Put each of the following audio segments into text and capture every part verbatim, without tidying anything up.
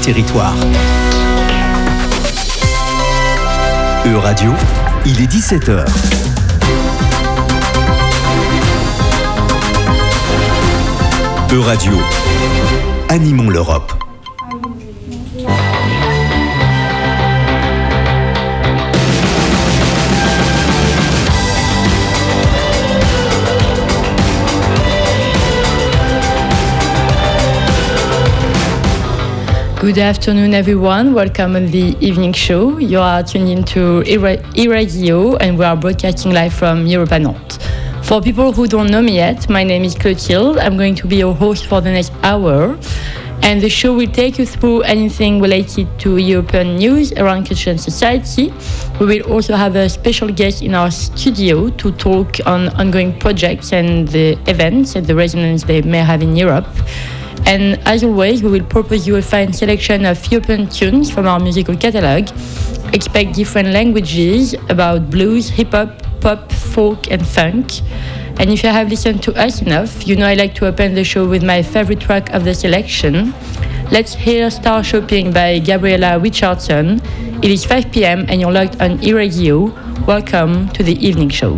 territoire. E-Radio, il est dix-sept heures. E-Radio, animons l'Europe. Good afternoon, everyone. Welcome on the evening show. You are tuned into E-Radio, and we are broadcasting live from Europa Nantes. For people who don't know me yet, my name is Clotilde. I'm going to be your host for the next hour. And the show will take you through anything related to European news around culture and society. We will also have a special guest in our studio to talk on ongoing projects and the events and the resonance they may have in Europe. And as always, we will propose you a fine selection of European tunes from our musical catalogue. Expect different languages about blues, hip-hop, pop, folk and funk. And if you have listened to us enough, you know I like to open the show with my favorite track of the selection. Let's hear Star Shopping by Gabriella Richardson. It is five p.m. and you're logged on E-Radio. Welcome to the evening show.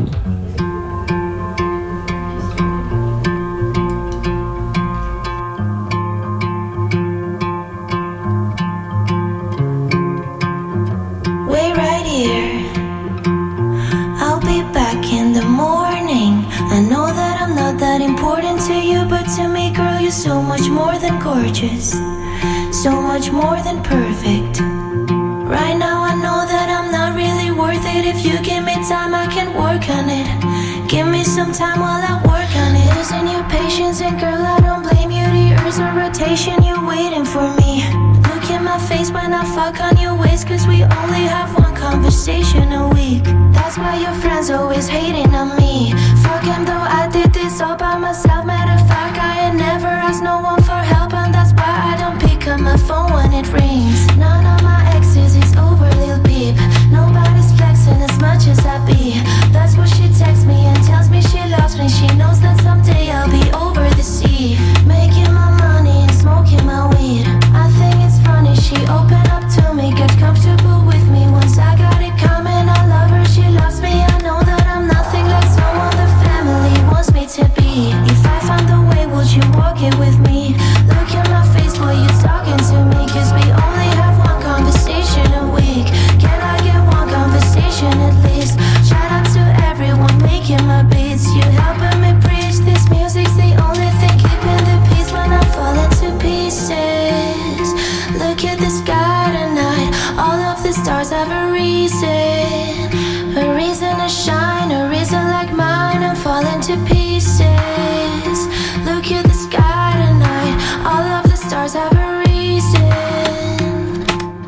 So much more than gorgeous, so much more than perfect. Right now I know that I'm not really worth it. If you give me time I can work on it. Give me some time while I work on it. Losing your patience and girl I don't blame you. The earth's a rotation, you're waiting for me. Look in my face when I fuck on your waist, cause we only have one conversation a week. That's why your friends always hating on me. Fuck him though, I did this all by myself. Matter of fact, I ain't never asked no one for help, and that's why I don't pick up my phone when it rings. None of my exes is over, lil peep. Nobody's flexing as much as I be. That's what she texts me and tells me she loves me. She knows that someday I'll be over the sea, making my money and smoking my weed. I think it's funny, she opened up to me, get comfortable with me. Once I got it coming, I love her, she loves me. I know that I'm nothing like someone the family wants me to be. If I find the way, would you walk it with me? Look at my face while you're talking to me, cause we only have one conversation a week. Can I get one conversation at least? Shout out to everyone making my beats. You helping me preach, this music's the only thing keeping the peace when I'm falling to pieces. Look at the sky tonight, all of the stars have a reason. A reason to shine, a reason like mine, I'm falling to pieces. Look at the sky tonight, all of the stars have a reason.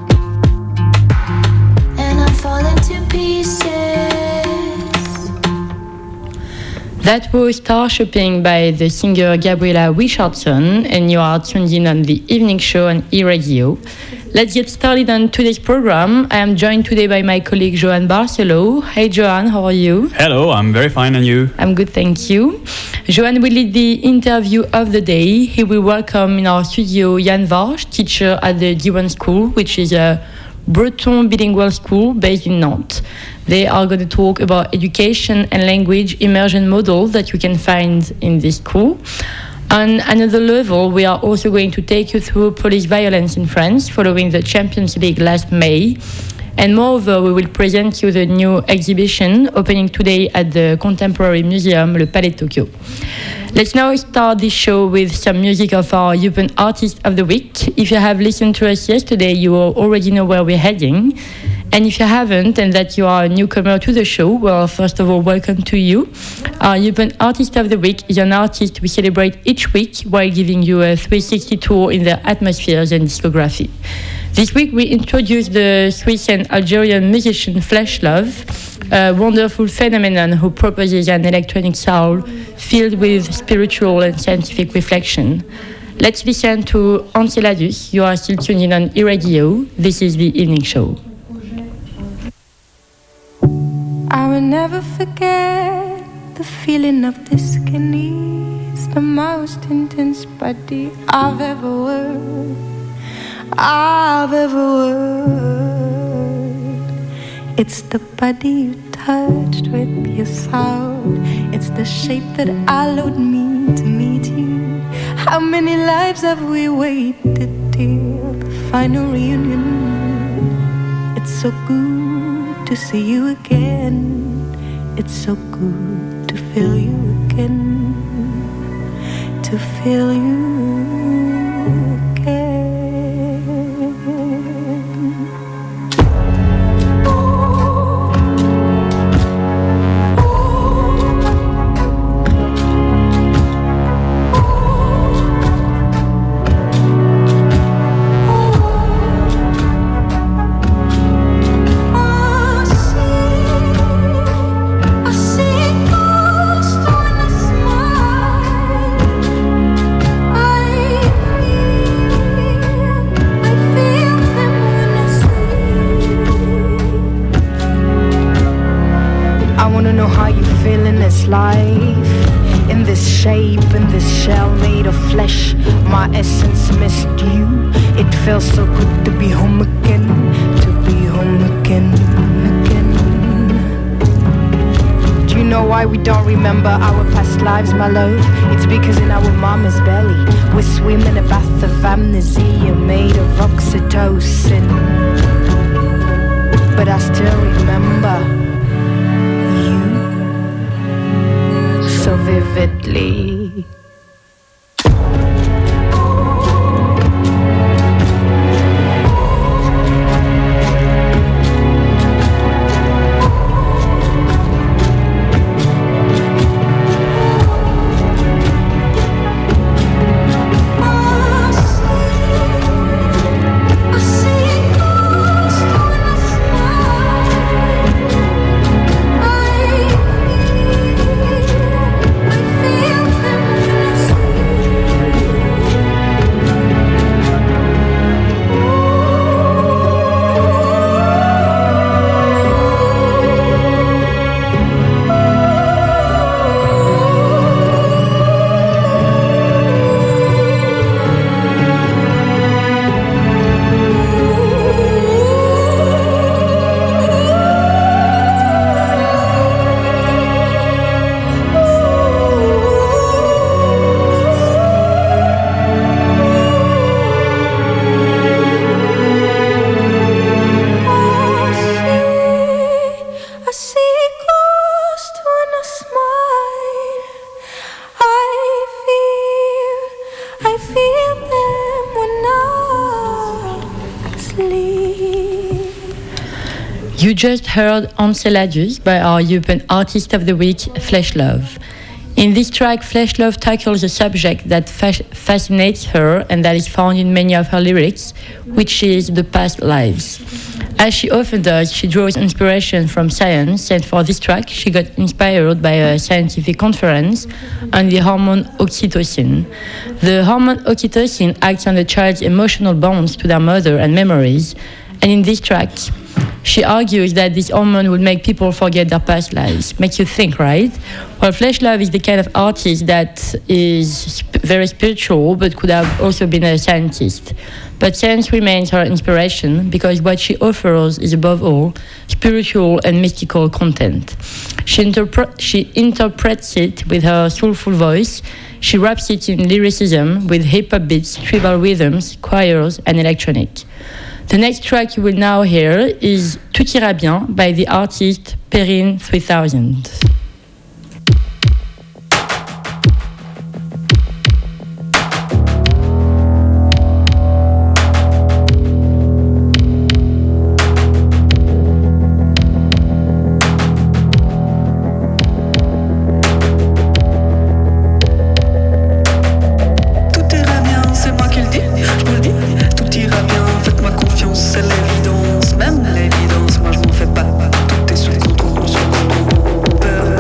And I'm falling to pieces. That was Star Shopping by the singer Gabriella Richardson, and you are tuned in on the evening show on E-Radio. Let's get started on today's program. I am joined today by my colleague Johan Barcelo. Hey Johan, how are you? Hello, I'm very fine, and you? I'm good, thank you. Johan will lead the interview of the day. He will welcome in our studio Yann Varge, teacher at the Diwan School, which is a Breton bilingual school based in Nantes. They are going to talk about education and language immersion model that you can find in this school. On another level, we are also going to take you through police violence in France following the Champions League last May. And moreover, we will present you the new exhibition opening today at the Contemporary Museum, Le Palais de Tokyo. Let's now start this show with some music of our European Artist of the Week. If you have listened to us yesterday, you already know where we're heading. And if you haven't, and that you are a newcomer to the show, well, first of all, welcome to you. Our European Artist of the Week is an artist we celebrate each week while giving you a three sixty tour in their atmospheres and discography. This week, we introduce the Swiss and Algerian musician Flesh Love, a wonderful phenomenon who proposes an electronic soul filled with spiritual and scientific reflection. Let's listen to Enceladus. You are still tuned in on E-Radio. This is the evening show. I will never forget the feeling of this skinny. It's the most intense body I've ever worn. I've ever heard. It's the body you touched with your sound. It's the shape that allowed me to meet you. How many lives have we waited till the final reunion? It's so good to see you again. It's so good to feel you again. To feel you again. Life in this shape, in this shell made of flesh. My essence missed you. It felt so good to be home again, to be home again, again. Do you know why we don't remember our past lives, my love? It's because in our mama's belly we swim in a bath of amnesia made of oxytocin. But I still remember so vividly. You just heard Enceladus by our European Artist of the Week, Fleshlove. In this track, Fleshlove tackles a subject that fas- fascinates her and that is found in many of her lyrics, which is the past lives. As she often does, she draws inspiration from science, and for this track, she got inspired by a scientific conference on the hormone oxytocin. The hormone oxytocin acts on the child's emotional bonds to their mother and memories, and in this track, she argues that this hormone would make people forget their past lives. Makes you think, right? Well, Fleshlove is the kind of artist that is sp- very spiritual, but could have also been a scientist. But science remains her inspiration because what she offers is, above all, spiritual and mystical content. She, interpre- she interprets it with her soulful voice. She wraps it in lyricism with hip-hop beats, tribal rhythms, choirs, and electronic. The next track you will now hear is Tout ira bien by the artist Perrine three thousand. L'évidence, même l'évidence, moi je m'en fais pas. Tout est sous contrôle, sous contrôle. Peur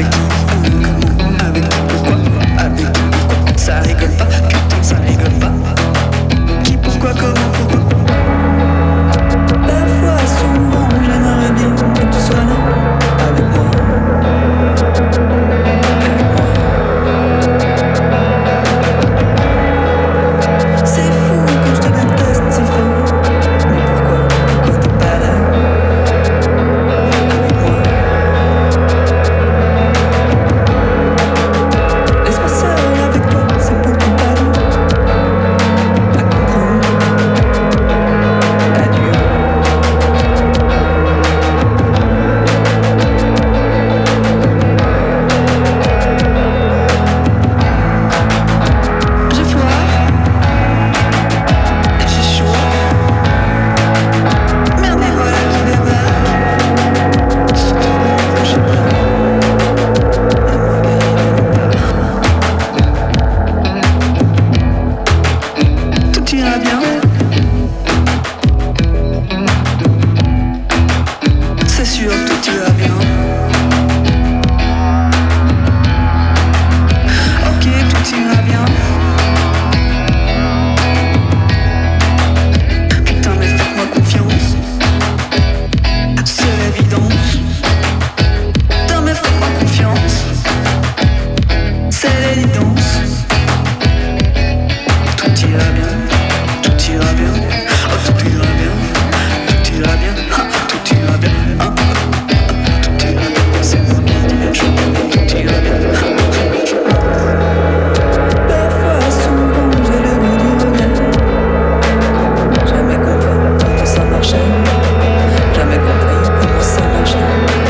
Avec qui, comment, avec qui, pourquoi, avec qui, pourquoi. Ça rigole pas, putain, ça rigole pas. Qui, pourquoi, comment, pourquoi. Parfois, souvent, j'aimerais bien que tu sois là, avec moi. Avec moi. C'est fou que je te déteste si fort. Mais pourquoi, pourquoi t'es pas là? Avec moi. Laisse-moi seul avec toi, c'est beaucoup pas dur à comprendre. Adieu. J'ai froid et j'ai chaud. Merde, et voilà qui démarre. Je sais pas. Ne me regarde pas. Tout ira bien. C'est sûr, tout ira bien. Ok, tout ira bien. Putain, mais faites-moi confiance. C'est l'évidence. Putain, mais faites-moi confiance. C'est l'évidence. Tout ira bien. Tout ira bien. Oh, tout ira bien. Tout ira bien. Ah, tout ira bien. Ah, ah, ah, tout ira bien. C'est moi qui dis les choses. Tout ira bien. Parfois, souvent, j'ai le goût du regard. Jamais compris comment ça marchait. Jamais compris comment ça marchait.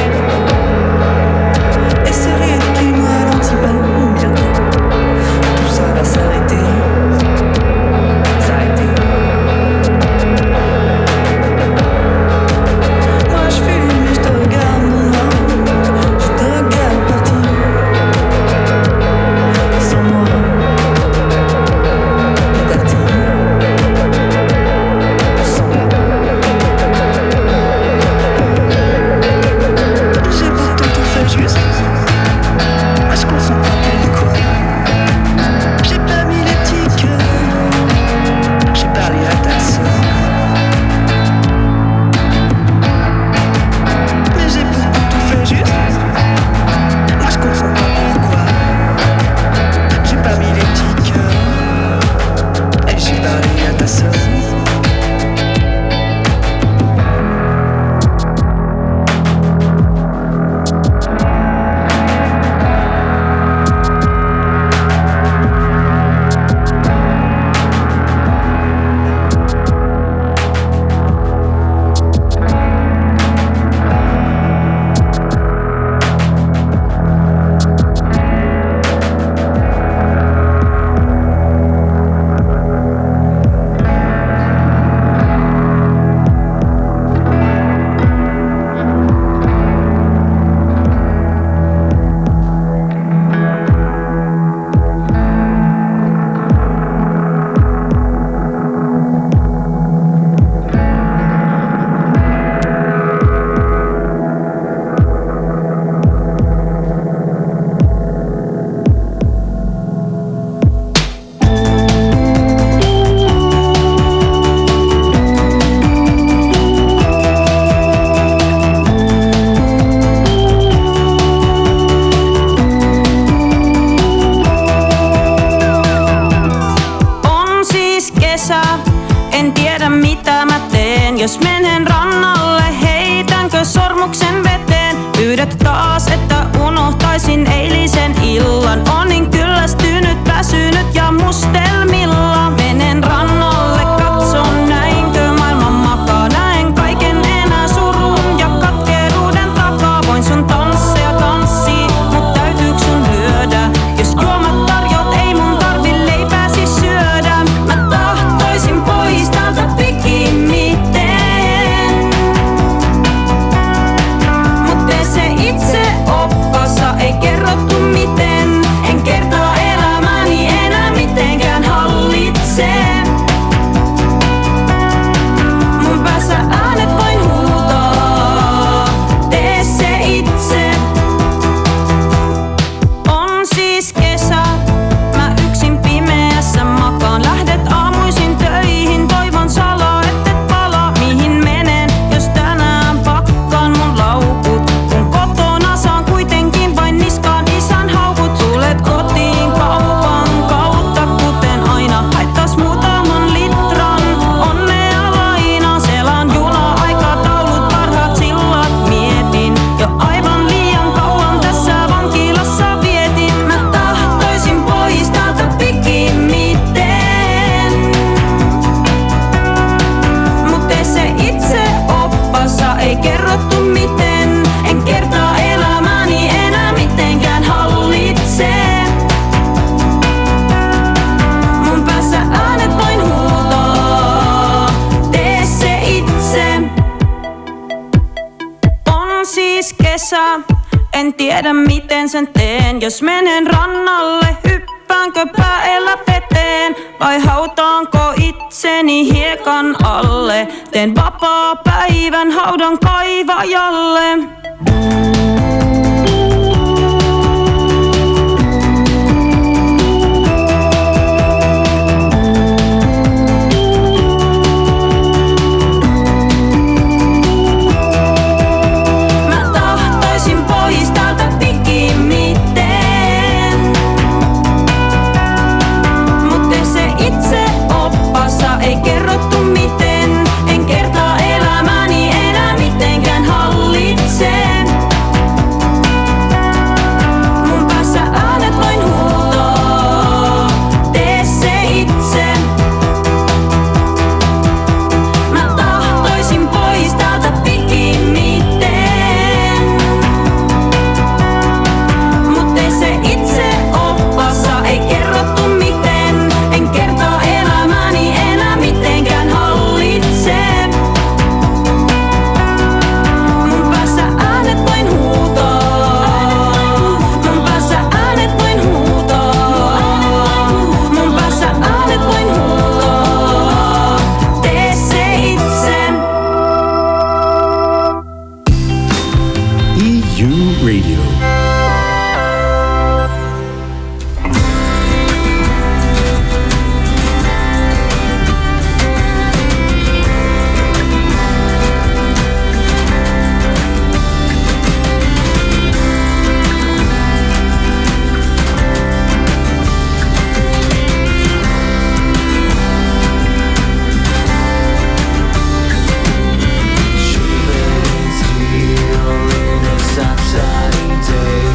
Et ce rythme qui me ralentit pas bientôt. Tout ça va s'arrêter. S'arrêter. Moi je fume et je te regarde mon noir. Je te regarde partir. Sans moi. Partir. Sans moi. J'ai pourtant tout fait juste. Moi je comprends pas pourquoi. J'ai pas mis les petits cœurs. J'ai parlé à ta soeur. Mais j'ai pourtant tout fait juste. Moi je comprends pas pourquoi. J'ai pas mis les petits cœurs. Et j'ai parlé à ta soeur. On siis kesä, en tiedä mitä mä teen. Jos menen rannalle, heitänkö sormuksen veteen? Pyydät taas, että unohtaisin eilisen illan. On niin kyllästynyt, väsynyt ja mustelmilla. Menen rannalle, katson näinkö maailma makaa. Näen kaiken enää surun ja katkeruuden takaa. Voin sun tansseja tanssii, mut täytyyks sun lyödä? Jos juomat tarjot, ei mun tarvi leipääsi syödä. Mä tahtoisin pois täältä pikimmiten. Mut tee se itse oppassa, ei kerrottu miten. En kertaa elämäni enää mitenkään. En tiedä miten sen teen, jos menen rannalle, hyppäänkö päällä veteen vai hautaanko itseni hiekan alle. Teen vapaa päivän haudan kaivajalle. Ei kerrottu miten, en kertaa elämäni enää mitenkään hallitse. Mun päässä äänet vain huutoo, tee se itse. Mä tahtoisin pois täältä pikimmiten, mut tee se itse oppassa, ei kerrottu miten, en kertaa elämäni enää mitenkään hallitse. Mun päässä äänet vain huutoo, mun päässä äänet vain huutoo, mun päässä äänet vain huutoo, tee se itse. E U Radio. She lives here in a sunshiny day.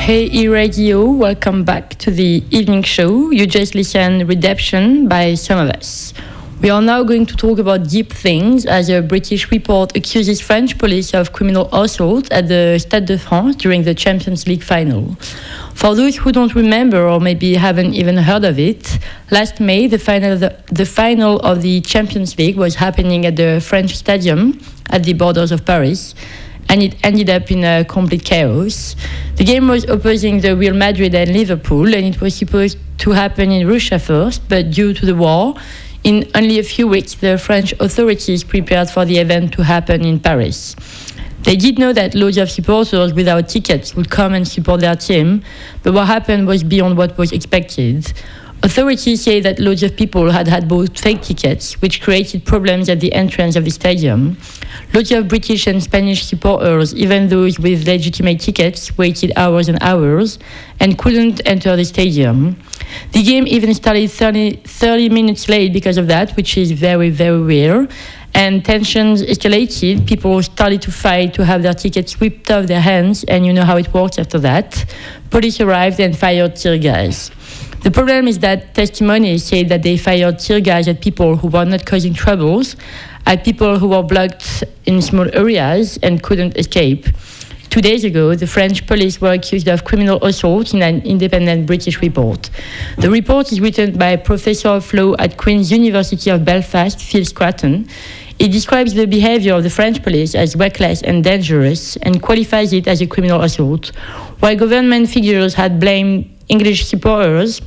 Hey E-Radio, welcome back to the evening show. You just listened Redemption by Some of Us. We are now going to talk about deep things as a British report accuses French police of criminal assault at the Stade de France during the Champions League final. For those who don't remember or maybe haven't even heard of it, last May the final of the, the final of the Champions League was happening at the French Stadium at the borders of Paris, and it ended up in a complete chaos. The game was opposing the Real Madrid and Liverpool, and it was supposed to happen in Russia first, but due to the war, in only a few weeks, the French authorities prepared for the event to happen in Paris. They did know that loads of supporters without tickets would come and support their team, but what happened was beyond what was expected. Authorities say that loads of people had had bought fake tickets, which created problems at the entrance of the stadium. Loads of British and Spanish supporters, even those with legitimate tickets, waited hours and hours and couldn't enter the stadium. The game even started thirty, thirty minutes late because of that, which is very, very rare. And tensions escalated. People started to fight to have their tickets whipped off their hands, and you know how it works after that. Police arrived and fired tear gas. The problem is that testimonies say that they fired tear gas at people who were not causing troubles, at people who were blocked in small areas and couldn't escape. Two days ago, the French police were accused of criminal assault in an independent British report. The report is written by Professor of Law at Queen's University of Belfast, Phil Scraton. It describes the behavior of the French police as reckless and dangerous and qualifies it as a criminal assault. While government figures had blamed English supporters,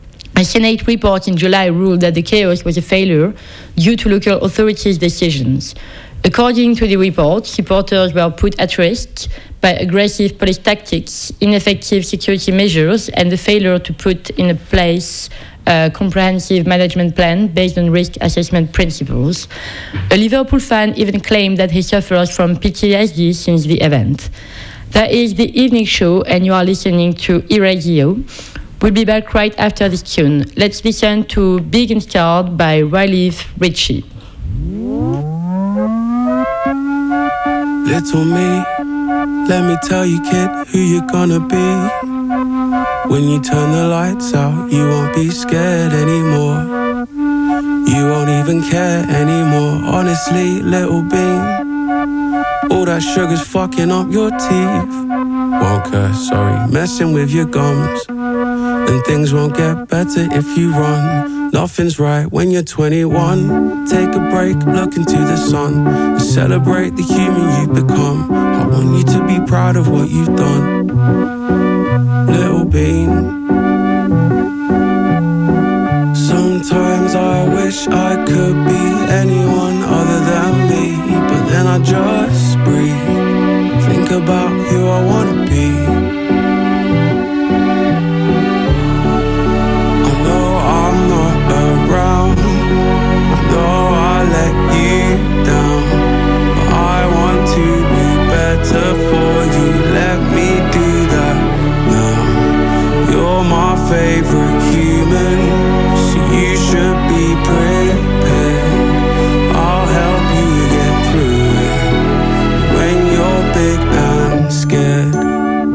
a Senate report in July ruled that the chaos was a failure due to local authorities' decisions. According to the report, supporters were put at risk by aggressive police tactics, ineffective security measures, and the failure to put in place a comprehensive management plan based on risk assessment principles. A Liverpool fan even claimed that he suffers from P T S D since the event. That is the evening show, and you are listening to E-Radio. We'll be back right after this tune. Let's listen to Big and Scarred by Riley Ritchie. Little me, let me tell you, kid, who you're gonna be. When you turn the lights out, you won't be scared anymore. You won't even care anymore. Honestly, little bean, all that sugar's fucking up your teeth. Won't curse, sorry, messing with your gums. And things won't get better if you run. Nothing's right when you're twenty-one. Take a break, look into the sun, and celebrate the human you've become. I want you to be proud of what you've done, little bean. Sometimes I wish I could be anyone other than me, but then I just breathe, think about who I wanna be. Around, I know I let you down, but I want to be better for you. Let me do that now. You're my favorite human, so you should be prepared. I'll help you get through it when you're big and scared.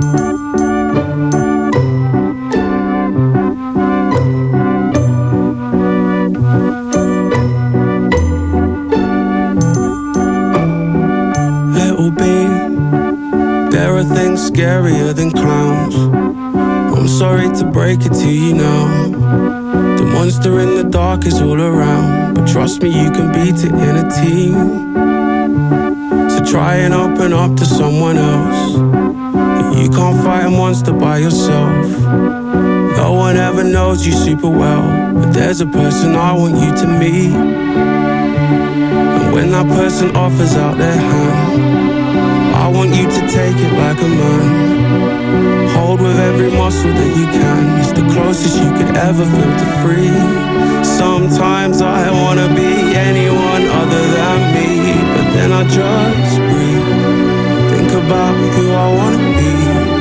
Things scarier than clowns. I'm sorry to break it to you now. The monster in the dark is all around, but trust me, you can beat it in a team. So try and open up to someone else. You can't fight a monster by yourself. No one ever knows you super well, but there's a person I want you to meet. And when that person offers out their hand, I want you to take it like a man. Hold with every muscle that you can. It's the closest you could ever feel to free. Sometimes I wanna be anyone other than me, but then I just breathe, think about who I wanna be.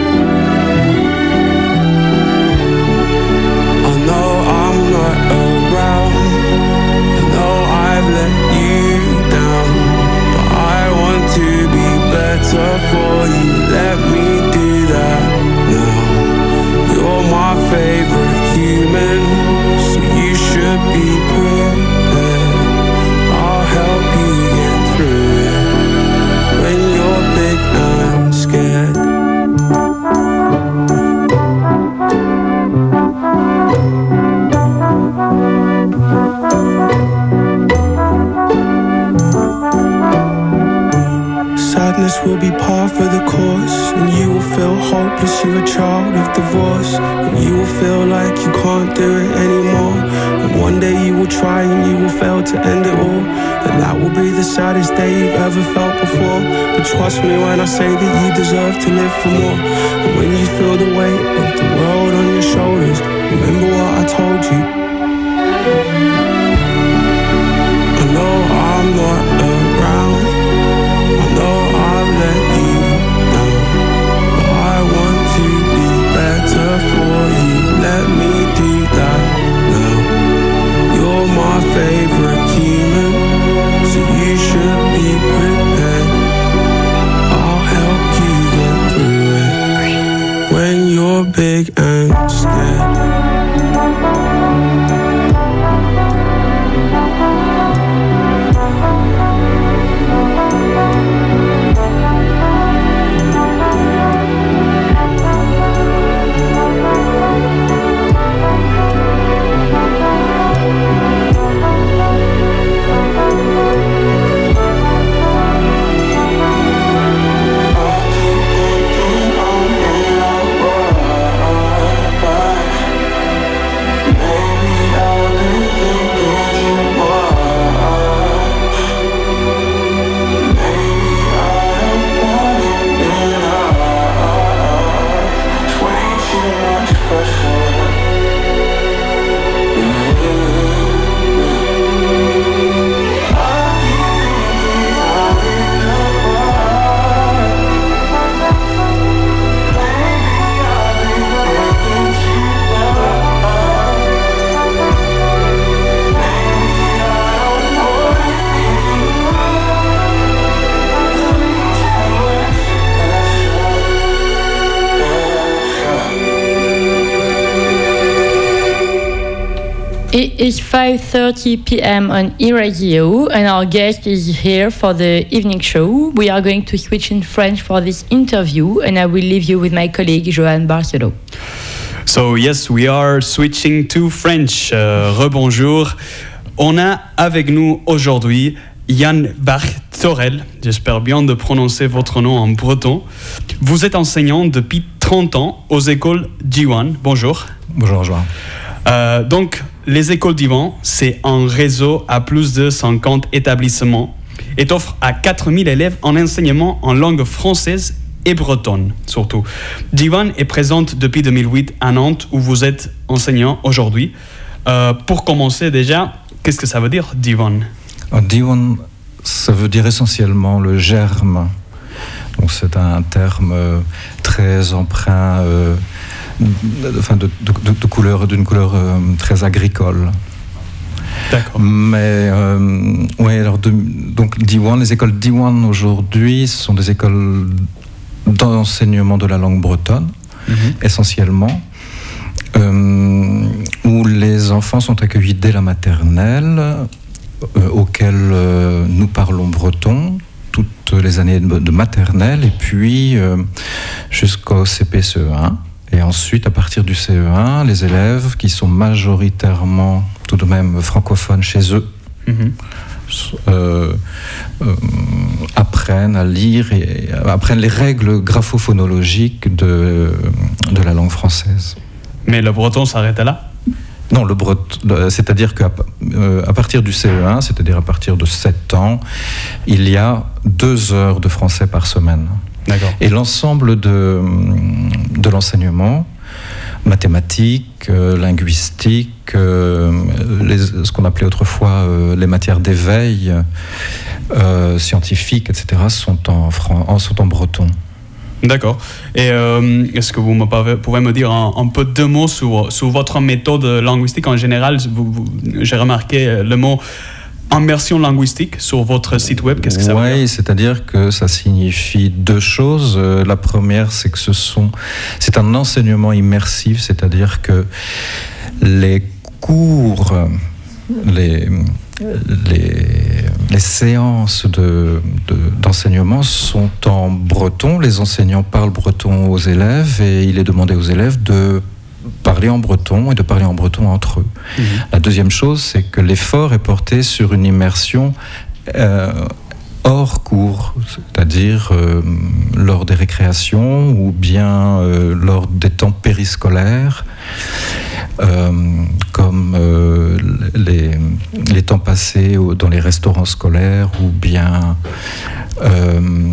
I know I'm not around, I know I've let you down, but I want to be better for you. Let me do that now. feel hopeless, you're a child of divorce. And you will feel like you can't do it anymore. And one day you will try and you will fail to end it all. And that will be the saddest day you've ever felt before. But trust me when I say that you deserve to live for more. And when you feel the weight of the world on your shoulders, remember what I told you. I know I'm not around, I know I've let you down, but I want to be better for you. Let me do that now. You're my favorite human, so you should be prepared. I'll help you get through it when you're big and scared. It is five thirty p.m. on eRadio, and our guest is here for the evening show. We are going to switch in French for this interview, and I will leave you with my colleague Johan Barcelot. So yes, we are switching to French. Uh, rebonjour. On a avec nous aujourd'hui Jan Barthorel. J'espère bien de prononcer votre nom en breton. Vous êtes enseignant depuis trente ans aux écoles Diwan. Bonjour. Bonjour Johan. Euh, donc, les écoles Diwan, c'est un réseau à plus de cinquante établissements et offre à quatre mille élèves en enseignement en langue française et bretonne, surtout. Diwan est présente depuis deux mille huit à Nantes, où vous êtes enseignant aujourd'hui. Euh, pour commencer déjà, qu'est-ce que ça veut dire, Diwan ? Diwan, ça veut dire essentiellement le germe. Donc c'est un terme euh, très empreint, euh, enfin de, de, de, de couleur, d'une couleur euh, très agricole. D'accord. Mais euh, ouais, alors de, donc Diwan, les écoles Diwan aujourd'hui sont des écoles d'enseignement de la langue bretonne, mm-hmm. essentiellement, euh, où les enfants sont accueillis dès la maternelle, euh, auxquels euh, nous parlons breton toutes les années de, de maternelle, et puis euh, jusqu'au C P C E un. Et ensuite, à partir du C E un, les élèves qui sont majoritairement tout de même francophones chez eux, mm-hmm. euh, euh, apprennent à lire et euh, apprennent les règles graphophonologiques de, de la langue française. Mais le breton s'arrête là ? Non, le breton, c'est-à-dire qu'à euh, à partir du C E un, c'est-à-dire à partir de sept ans, il y a deux heures de français par semaine. D'accord. Et l'ensemble de, de l'enseignement, mathématiques, euh, linguistique, euh, les, ce qu'on appelait autrefois euh, les matières d'éveil, euh, scientifiques, et cetera, sont en, fran- sont en breton. D'accord. Et euh, est-ce que vous me pouvez me dire un, un peu deux mots sur, sur votre méthode linguistique en général ? vous, vous, J'ai remarqué le mot immersion linguistique sur votre site web. Qu'est-ce que ça ouais, veut dire ? Oui, c'est-à-dire que ça signifie deux choses. Euh, la première, c'est que ce sont, c'est un enseignement immersif, c'est-à-dire que les cours, les Les, les séances de, de, d'enseignement sont en breton. Les enseignants parlent breton aux élèves et il est demandé aux élèves de parler en breton et de parler en breton entre eux. Mmh. La deuxième chose, c'est que l'effort est porté sur une immersion euh, hors cours, c'est-à-dire euh, lors des récréations ou bien euh, lors des temps périscolaires, euh, comme euh, les, les temps passés au, dans les restaurants scolaires ou bien euh, mmh.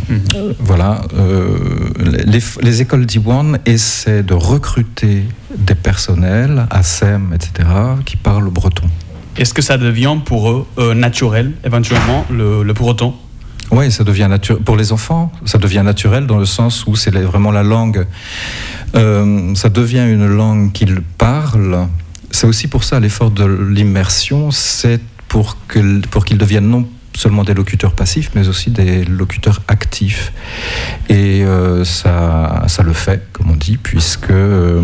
voilà, euh, les, les écoles d'Iwan essaient de recruter des personnels, A S E M, et cetera, qui parlent breton. Est-ce que ça devient pour eux euh, naturel, éventuellement, le, le breton ? Oui, ça devient naturel. Pour les enfants, ça devient naturel dans le sens où c'est vraiment la langue. Euh, ça devient une langue qu'ils parlent. C'est aussi pour ça l'effort de l'immersion, c'est pour, que, pour qu'ils deviennent non seulement des locuteurs passifs, mais aussi des locuteurs actifs. Et euh, ça, ça le fait, comme on dit, puisque euh,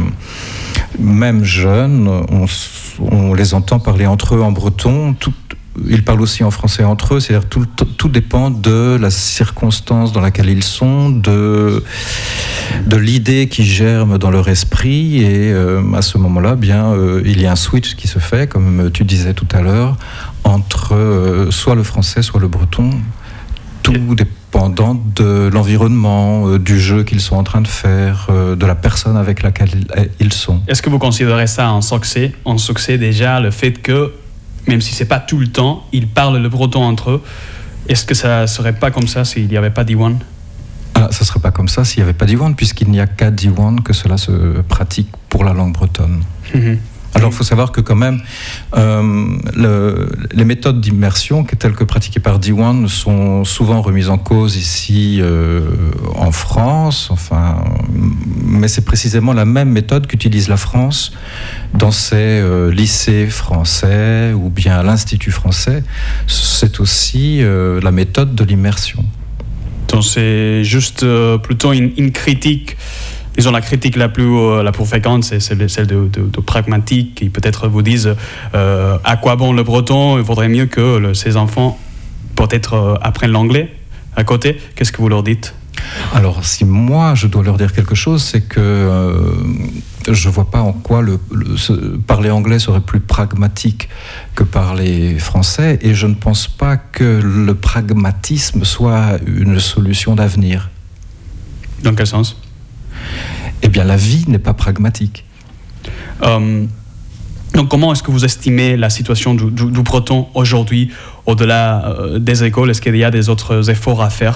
même jeunes, on, on les entend parler entre eux en breton. Tout, ils parlent aussi en français entre eux, c'est-à-dire tout, tout dépend de la circonstance dans laquelle ils sont, de, de l'idée qui germe dans leur esprit, et euh, à ce moment-là, bien, euh, il y a un switch qui se fait, comme tu disais tout à l'heure, entre euh, soit le français, soit le breton, tout dépendant de l'environnement, euh, du jeu qu'ils sont en train de faire, euh, de la personne avec laquelle ils sont. Est-ce que vous considérez ça un succès, un succès déjà, le fait que même si c'est pas tout le temps, ils parlent le breton entre eux. Est-ce que ça serait pas comme ça s'il n'y avait pas d'Iwan ? Ah, ça serait pas comme ça s'il n'y avait pas d'Iwan, puisqu'il n'y a qu'à d'Iwan que cela se pratique pour la langue bretonne. Mm-hmm. Alors, il faut savoir que quand même, euh, le, les méthodes d'immersion telles que pratiquées par Diwan sont souvent remises en cause ici euh, en France. Enfin, mais c'est précisément la même méthode qu'utilise la France dans ses euh, lycées français ou bien à l'Institut français. C'est aussi euh, la méthode de l'immersion. Donc, c'est juste euh, plutôt une, une critique. Disons, la critique la plus, euh, la plus fréquente, c'est celle de, de, de pragmatique, qui peut-être vous disent euh, à quoi bon le breton, il vaudrait mieux que le, ces enfants peut-être euh, apprennent l'anglais à côté. Qu'est-ce que vous leur dites ? Alors, si moi je dois leur dire quelque chose, c'est que euh, je ne vois pas en quoi le, le, ce, parler anglais serait plus pragmatique que parler français, et je ne pense pas que le pragmatisme soit une solution d'avenir. Dans quel sens ? Eh bien, la vie n'est pas pragmatique. Euh, donc, comment est-ce que vous estimez la situation du, du, du breton aujourd'hui, au-delà euh, des écoles ? Est-ce qu'il y a des autres efforts à faire ?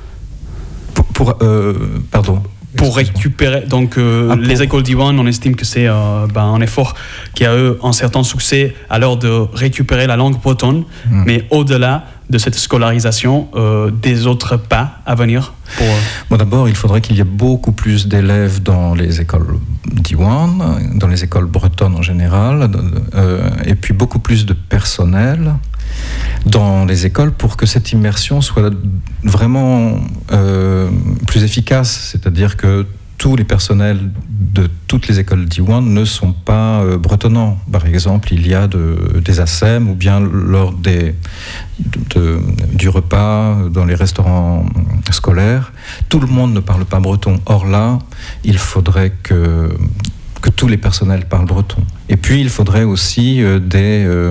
Pour, pour euh, pardon. Pour récupérer, donc euh, ah, pour... les écoles d'Iwan, on estime que c'est euh, ben, un effort qui a eu un certain succès à l'heure de récupérer la langue bretonne, mmh. mais au-delà de cette scolarisation, euh, des autres pas à venir pour... Bon, d'abord, il faudrait qu'il y ait beaucoup plus d'élèves dans les écoles d'Iwan, dans les écoles bretonnes en général, euh, et puis beaucoup plus de personnel dans les écoles pour que cette immersion soit vraiment euh, plus efficace, c'est-à-dire que tous les personnels de toutes les écoles d'Iwan ne sont pas euh, bretonnants. Par exemple, il y a de, des A S E M ou bien lors des, de, de, du repas dans les restaurants scolaires, tout le monde ne parle pas breton. Or là, il faudrait que, que tous les personnels parlent breton. Et puis, il faudrait aussi euh, des, euh,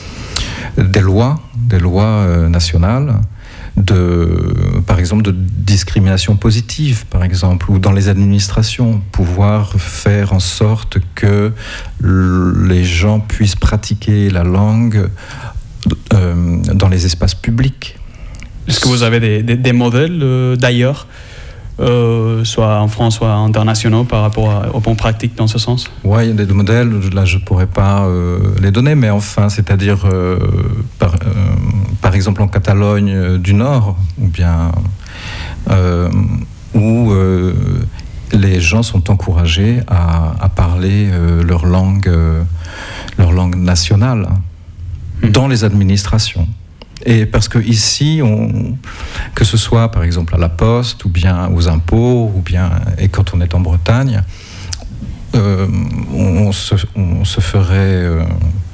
des lois, des lois euh, nationales, de, par exemple, de discrimination positive, par exemple, ou dans les administrations, pouvoir faire en sorte que les gens puissent pratiquer la langue euh, dans les espaces publics. Est-ce que vous avez des, des, des modèles euh, d'ailleurs, euh, soit en France, soit internationaux, par rapport à, aux bonnes pratiques dans ce sens ? Oui, il y a des modèles, là je ne pourrais pas euh, les donner, mais enfin, c'est-à-dire, euh, par, euh, par exemple en Catalogne euh, du Nord, ou bien euh, où euh, les gens sont encouragés à, à parler euh, leur langue, euh, leur langue nationale mmh. dans les administrations. Et parce que ici, on, que ce soit par exemple à la poste, ou bien aux impôts, ou bien et quand on est en Bretagne, euh, on, on, se, on se ferait euh,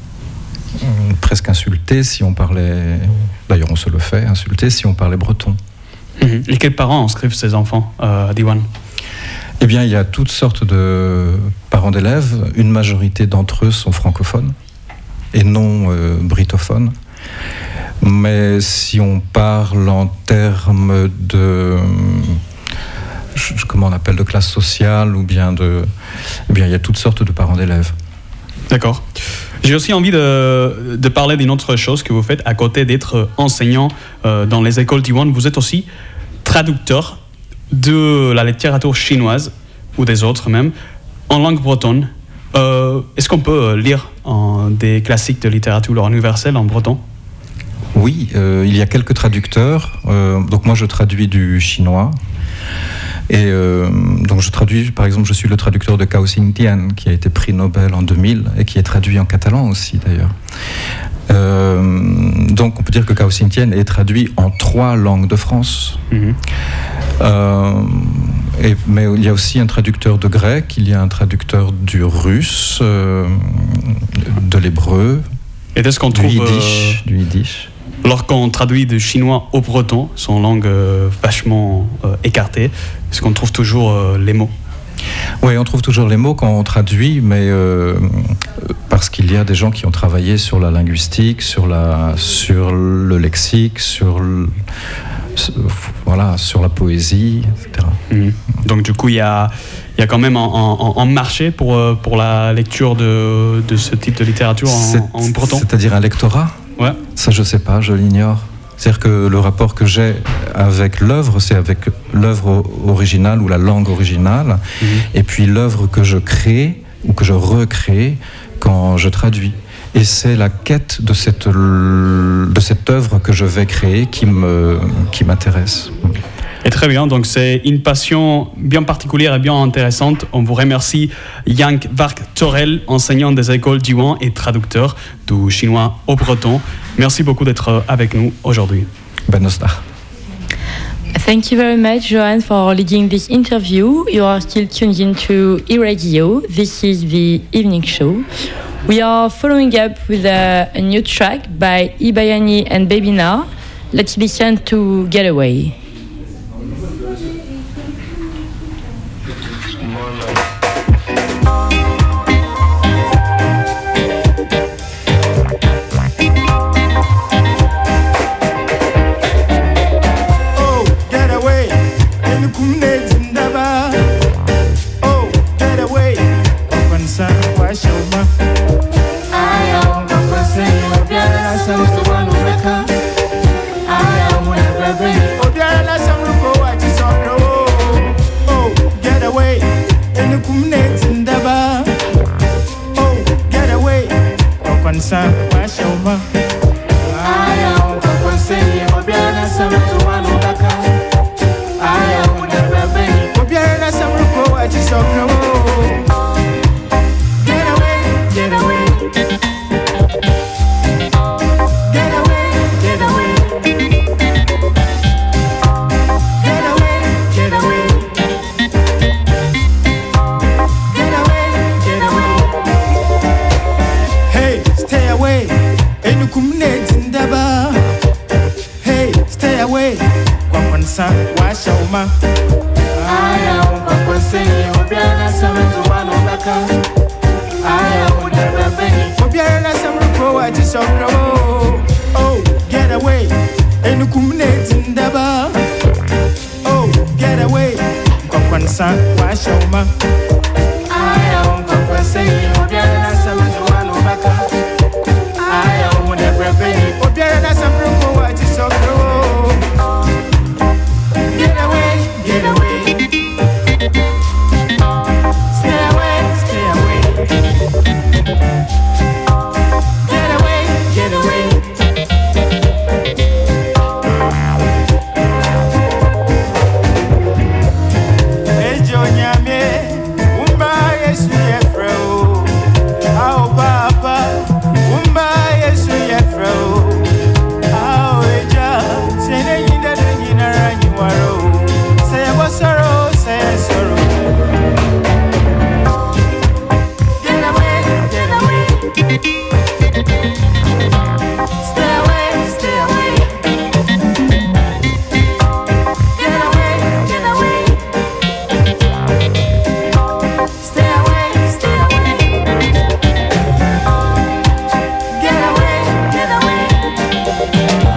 presque insulter si on parlait. D'ailleurs, on se le fait insulter si on parlait breton. Mmh. Et quels parents inscrivent ces enfants euh, à Diwan ? Eh bien, il y a toutes sortes de parents d'élèves. Une majorité d'entre eux sont francophones et non euh, britophones. Mais si on parle en termes de, je- comment on appelle, de classe sociale ou bien de, eh bien, il y a toutes sortes de parents d'élèves. D'accord. J'ai aussi envie de, de parler d'une autre chose que vous faites à côté d'être enseignant euh, dans les écoles Diwan. Vous êtes aussi traducteur de la littérature chinoise ou des autres même en langue bretonne. Euh, est-ce qu'on peut lire en, des classiques de littérature universelle en breton? Oui, euh, il y a quelques traducteurs. Euh, donc moi, je traduis du chinois. Et euh, donc je traduis, par exemple, je suis le traducteur de Cao Xingtian, qui a été prix Nobel en deux mille et qui est traduit en catalan aussi d'ailleurs. Euh, donc on peut dire que Cao Xingtian est traduit en trois langues de France. Mhm. Euh, et, mais il y a aussi un traducteur de grec, il y a un traducteur du russe, euh, de l'hébreu, Et est-ce qu'on du trouve, yiddish, euh, du yiddish. lorsqu'on traduit du chinois au breton, son langue euh, vachement euh, écartée, est-ce qu'on trouve toujours euh, les mots? Oui, on trouve toujours les mots quand on traduit, mais euh, parce qu'il y a des gens qui ont travaillé sur la linguistique, sur, la, sur le lexique, sur, le, voilà, sur la poésie, et cetera. Mhm. Donc du coup, il y a, il y a quand même un, un- un marché pour, euh, pour la lecture de, de ce type de littérature C'est- en, en breton. C'est-à-dire un lectorat? Ouais. Ça, je sais pas, je l'ignore. C'est-à-dire que le rapport que j'ai avec l'œuvre, c'est avec l'œuvre originale ou la langue originale, Mhm. et puis l'œuvre que je crée ou que je recrée quand je traduis. Et c'est la quête de cette, de cette œuvre que je vais créer qui me, qui m'intéresse. Et très bien, donc c'est une passion bien particulière et bien intéressante. On vous remercie Yank Vark Torel, enseignant des écoles Diwan et traducteur du chinois au breton. Merci beaucoup d'être avec nous aujourd'hui. Ben Nostar. Thank you very much, Johan, for leading this interview. You are still tuned into e-radio. This is the evening show. We are following up with a, a new track by Ibayani and Babina. Let's listen to Getaway. Oh, get away. In kumne zindaba. Oh, get away. Opansa wa shoma. Aya opansa obiara samu wanu beka. Aya mo bebe. Obiara samu ko wa chisoro. Oh, get away. In kumne zindaba. Oh, get away. Opansa wa shoma. Aya opansa obiara samu wanu beka. Aya mo bebe. Obiara samu ko wa chisoro. Get away, get away. Get away, get away. Get away, get away. Get away, get away. Hey, stay away. Enu kumne zindaba. Hey, stay away. Kwa kwanza wa shauma. Aya kwa kwanza obiara samu wanu baka. Aya udara beni. Obiara na samu wa chisoro. Oh, get away. Enu kumne zindaba. Oh, get away. Kwa kwanza wa shauma. Aya kwa kwanza obiara na samu wanu baka. Aya udara beni. Obiara na samu wa chisoro. Get away, get away. Stay away, stay away. Get away, get away. Ejo nyame, umba Yesu yefreo. Ao baba, umba Yesu yefreo. Ao eja, sene yinda do yinara nyiwaro. Say wasoro, say soro. Get away, get away. Stay away, stay away. Get away, get away. Stay away, stay away. Get away, get away.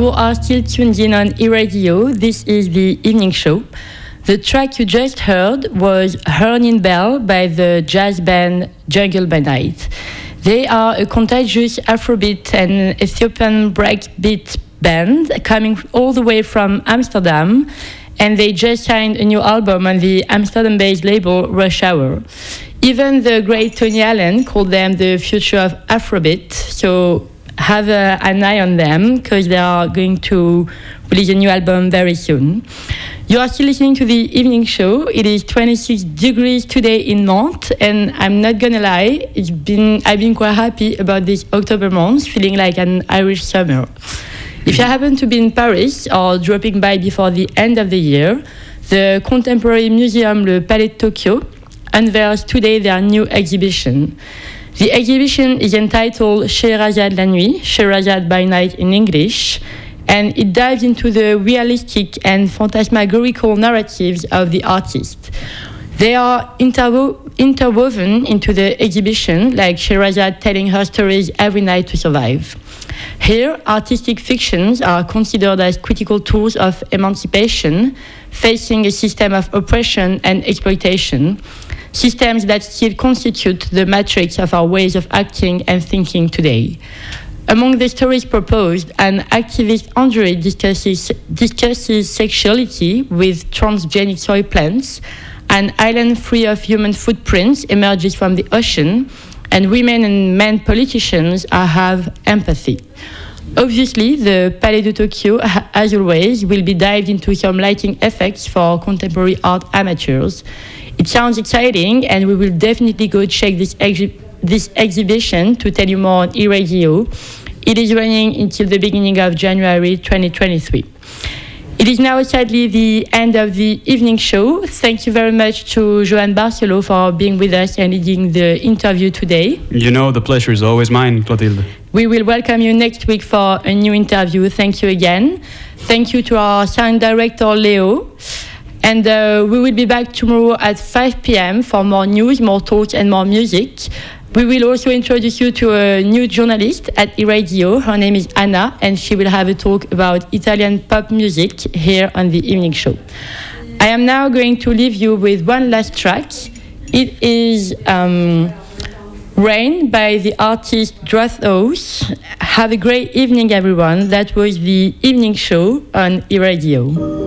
you are still tuned in on E-Radio. This is the evening show. The track you just heard was Hurnin Bell by the jazz band Jungle by Night. They are a contagious Afrobeat and Ethiopian breakbeat band coming all the way from Amsterdam, and they just signed a new album on the Amsterdam-based label Rush Hour. Even the great Tony Allen called them the future of Afrobeat, so have a, an eye on them because they are going to release a new album very soon. You are still listening to the evening show. It is twenty-six degrees today in Nantes, and I'm not gonna lie, it's been I've been quite happy about this October month, feeling like an Irish summer. If you happen to be in Paris or dropping by before the end of the year, the contemporary museum Le Palais de Tokyo unveils today their new exhibition. The exhibition is entitled Scheherazade la nuit, Scheherazade by night in English, and it dives into the realistic and phantasmagorical narratives of the artist. They are interwo- interwoven into the exhibition, like Scheherazade telling her stories every night to survive. Here, artistic fictions are considered as critical tools of emancipation, facing a system of oppression and exploitation, systems that still constitute the matrix of our ways of acting and thinking today. Among the stories proposed, an activist android discusses, discusses sexuality with transgenic soy plants, an island free of human footprints emerges from the ocean, and women and men politicians are, have empathy. Obviously, the Palais de Tokyo, as always, will be dived into some lighting effects for contemporary art amateurs. It sounds exciting, and we will definitely go check this, exhi- this exhibition to tell you more on E-Radio. It is running until the beginning of January twenty twenty-three. It is now sadly the end of the evening show. Thank you very much to Johan Barcelo for being with us and leading the interview today. You know, the pleasure is always mine, Clotilde. We will welcome you next week for a new interview. Thank you again. Thank you to our sound director, Leo. And uh, we will be back tomorrow at five p.m. for more news, more talks, and more music. We will also introduce you to a new journalist at E-Radio. Her name is Anna, and she will have a talk about Italian pop music here on the evening show. I am now going to leave you with one last track. It is um, Rain by the artist Drathos. Have a great evening, everyone. That was the evening show on E-Radio.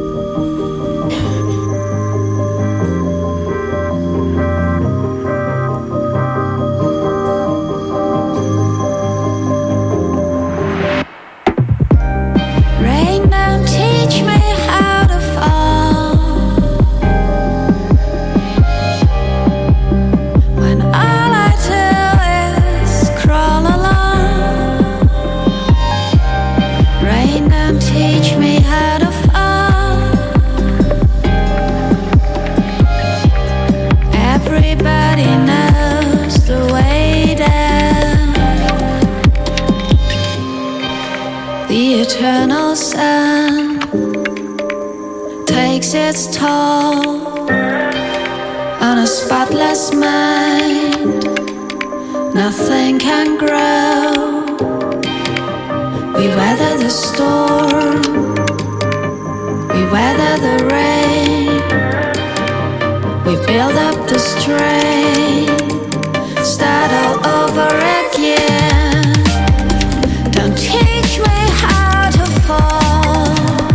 Eternal sun takes its toll on a spotless mind. Nothing can grow. We weather the storm, we weather the rain, we build up the strain, start all over again. Don't teach me how to fall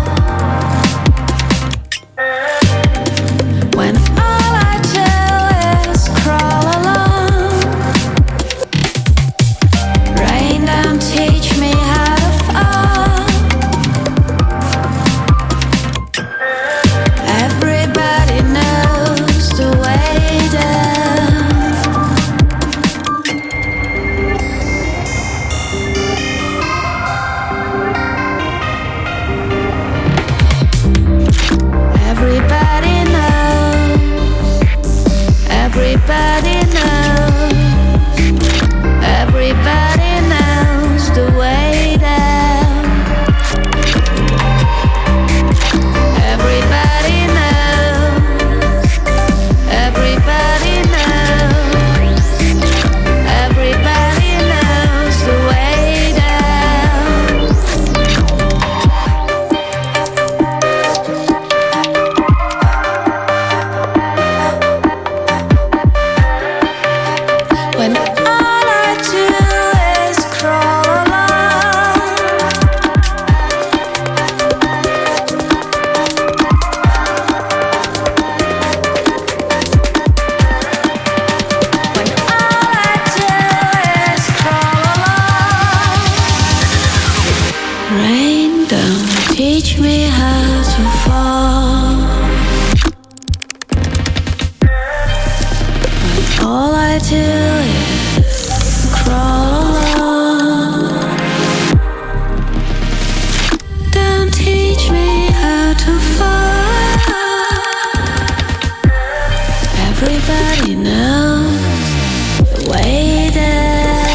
when all I do is crawl along. Rain, don't teach me how to fall. Everybody knows the way down. Everybody knows, everybody knows, everybody knows the way down. Everybody knows, everybody knows, everybody knows the way down. try to live, crawl on. Don't teach me how to fall. Everybody knows the way that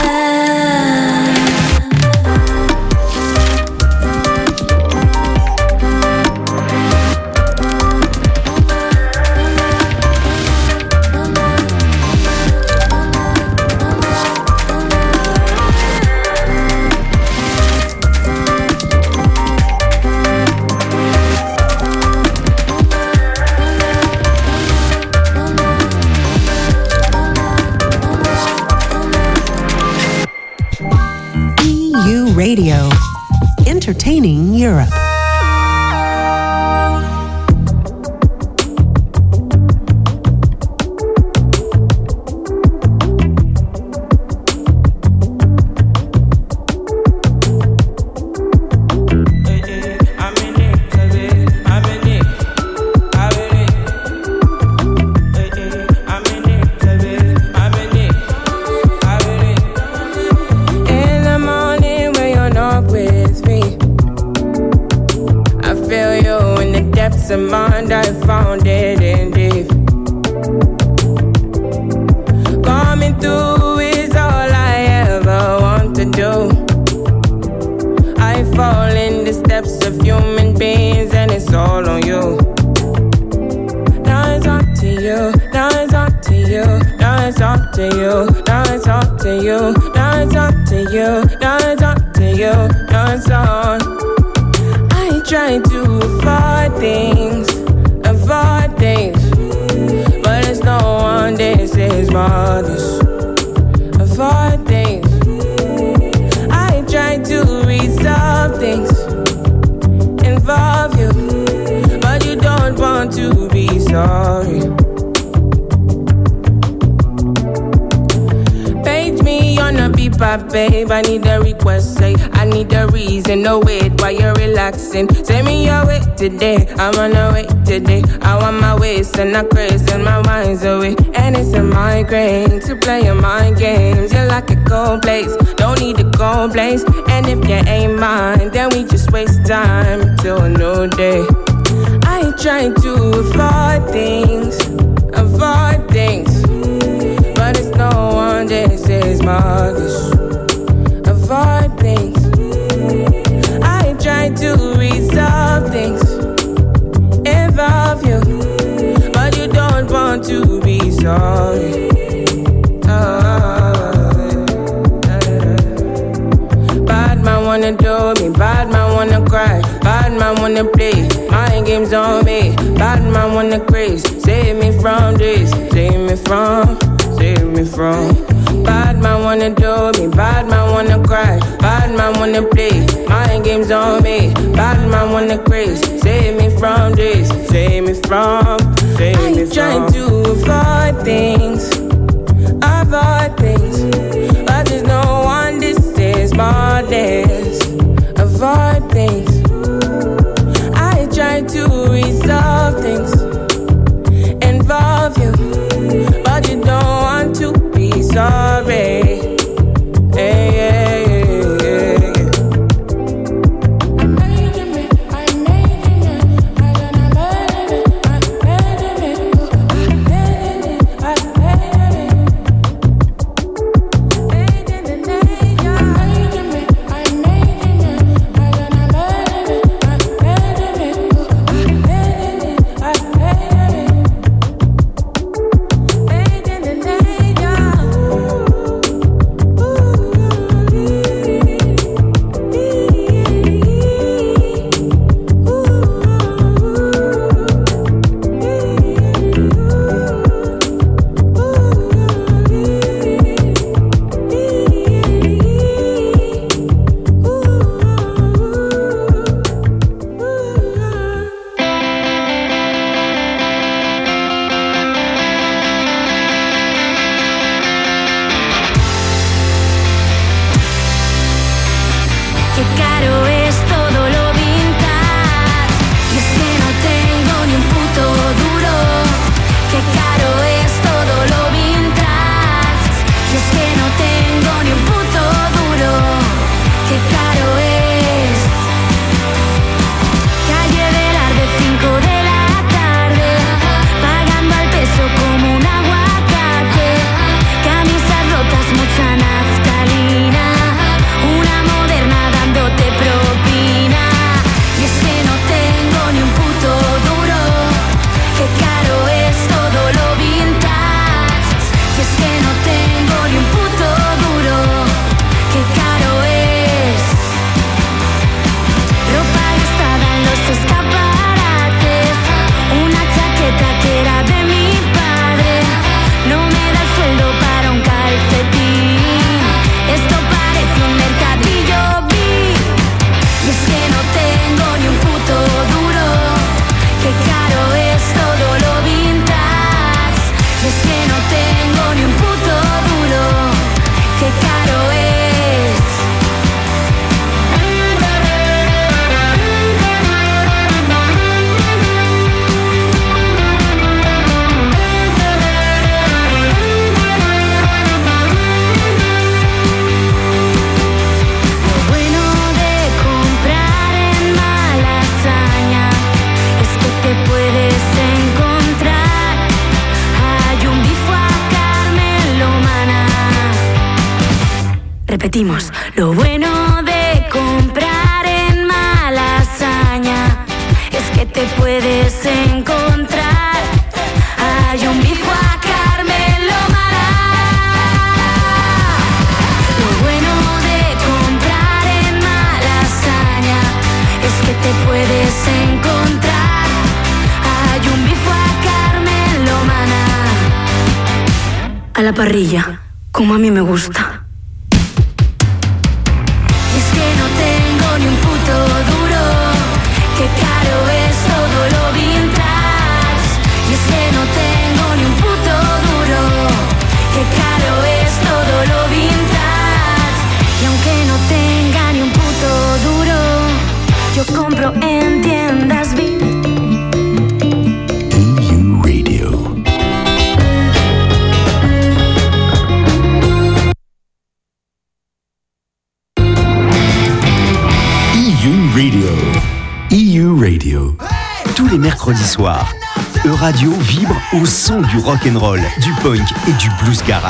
Radio, entertaining Europe. Mind, I found it in deep. Coming through is all I ever want to do. I fall in the steps of human beings and it's all on you. Now it's up to you, now it's up to you, now it's up to you, now it's up to you, now it's up to you, now it's up to you, now it's on. I try to avoid things, avoid things, but it's no one this is mothers. Avoid things. I try to resolve things, involve you, but you don't want to be sorry. Page me on a beeper, babe. I need a request, say I need a reason. No wait while you're relaxing. Say me your way today. I'm on a way today. I want my waist and I craze and my mind's away. And it's a migraine to play your mind games. You're like a cold place, don't need a cold place. And if you ain't mine, then we just waste time till a new day. I try to avoid things, avoid things, but it's no one this is mothers. Avoid things. I try to resolve things, involve you, but you don't want to be sorry. Oh, bad man wanna do me, bad man wanna cry, bad man wanna play mind games on me, bad man wanna craze. Save me from this, save me from, save me from. Bad man wanna do me, bad man wanna cry, bad man wanna play mind games on me, bad man wanna craze. Save me from this, save me from, save I me from. I try to avoid things, avoid things, but there's no one this is more this. Avoid things. I try to resolve things, involve you, but you don't want to be sorry. Hey, yeah, yeah, yeah, yeah. I Repetimos, lo bueno de comprar en Malasaña es que te puedes encontrar. Hay un bife a Carmelo Mará. Lo bueno de comprar en Malasaña es que te puedes encontrar. Hay un bife a Carmelo Mará. A la parrilla, como a mí me gusta. Ni un puto duro, qué caro es todo lo vintage. Y es que no tengo ni un puto duro, qué caro es todo lo vintage. Y aunque no tenga ni un puto duro, yo compro en tiendas V I P. E U Radio. Radio. E U Radio. Tous les mercredis soirs, E-Radio vibre au son du rock'n'roll, du punk et du blues garage.